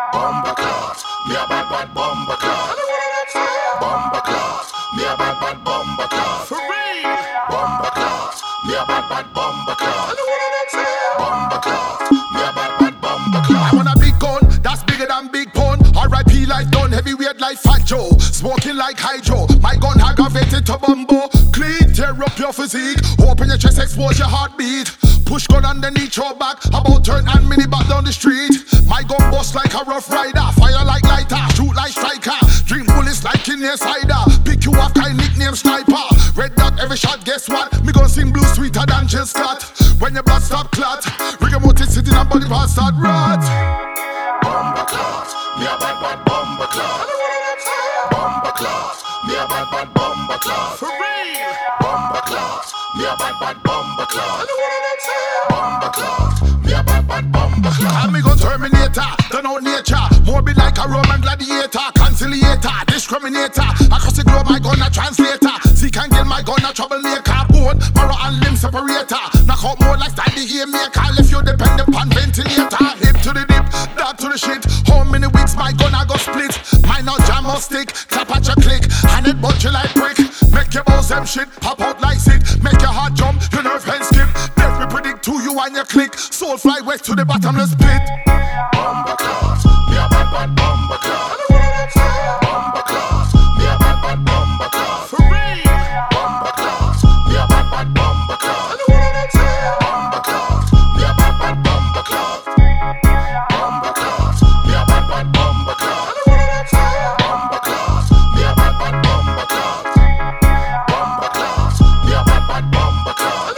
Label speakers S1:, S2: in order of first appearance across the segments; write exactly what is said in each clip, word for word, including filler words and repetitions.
S1: Bomba clot, me a bad bad bomba clot. Bomba clot, me a bad bad bomba clot. For real. Bomba clot, me a bad bad bomba clot. Bomba clot, me a bad bad bomba clot.
S2: I want a big gun, that's bigger than big pun. R I P life done, heavyweight like Fat Joe. Smoking like Hydro, my gun aggravated to bumbo. Clean, tear up your physique. Open your chest, expose your heartbeat. Push gun underneath your back, about turn and mini back down the street. My gun bust like a rough rider, fire like lighter, shoot like striker. Drink bullets like in your cider. Pick you up kind nickname sniper. Red dot every shot, guess what? Me gon' sing blue sweeter than Jill Scott. When your blood stop clot, rigor mortis sitting and body parts start rot.
S1: Bomba clot, me a bad bad bomba clot. Bomba clot, me a bad bad bomba clot.
S2: For real.
S1: Bomba clot, me a bad bad bomba clot. Bomba clot, me a bad bad bomba clot.
S2: And me gon' Terminator, done out nature. More be like a Roman gladiator, conciliator, discriminator. Across the globe, my gun a translator. Seek and get my gun a troublemaker. Bone, marrow and limb separator. Knock out more like Stanley game maker. If you depend upon ventilator. Hip to the dip, dart to the shit. How many weeks my gun a go split? Mine no jam or stick, clap at your click. And it bunch you like brick. Make your bones them shit, pop out like sick. Make your heart jump, your nerve hand skip. Let me predict to you and your click. Soul fly west to the bottomless pit.
S1: Bomba clot, me a bad bad bomba clot. Bomba clot, me a bad bad bomba clot.
S2: For real.
S1: Bomba clot, me a bad bad bomba clot. Bomba clot, me a bad bad bomba clot. Bomba clot, me a bad bad bomba clot. Bomba clot, me a bad bad bomba clot. Bomba clot, me a bad bad bomba clot.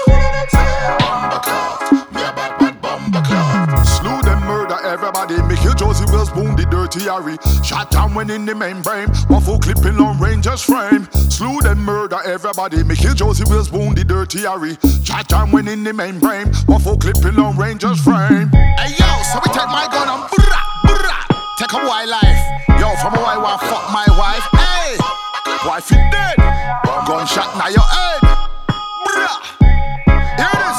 S1: Bomba clot, me a bad bad bomba clot.
S2: Slew them, murder everybody. Me kill Josie Wells, boom the dirty Harry. Shot down when in the membrane. Waffle clipping on Rangers frame. Slew them, murder everybody. Me kill Josie Wells, boom the dirty Harry. Shot down when in the membrane. Waffle clipping on Rangers frame. Hey yo, so we take my gun and brrrah, brrrah. Take a boy life. Yo, from a boy want fuck my wife. Hey, wife you dead. Gunshot now your head. Brrrah. Hear this?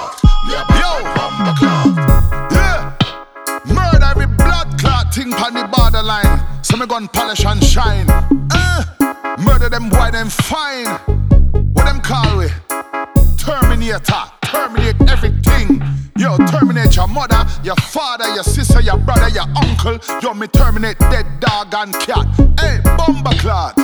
S2: Yo,
S1: Bomba clot.
S2: yeah. Murder every blood clot thing pon the borderline. So me gun polish and shine. Uh, murder them boy them fine. What them call we? Terminator. Terminate everything. Yo, terminate your mother, your father, your sister, your brother, your uncle. Yo, me terminate dead dog and cat. Hey, bomba clot.